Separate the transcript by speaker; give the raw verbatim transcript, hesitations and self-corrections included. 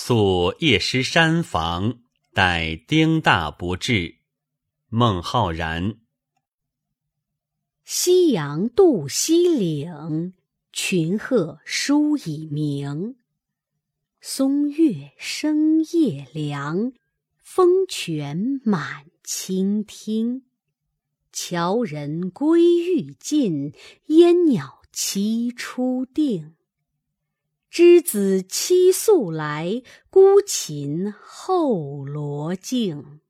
Speaker 1: 宿夜师山房，待丁大不至。孟浩然。
Speaker 2: 夕阳渡西岭，群鹤书已鸣。松月生夜凉，风泉满清听。樵人归欲尽，烟鸟栖初定。之子期宿来，孤琴后罗镜。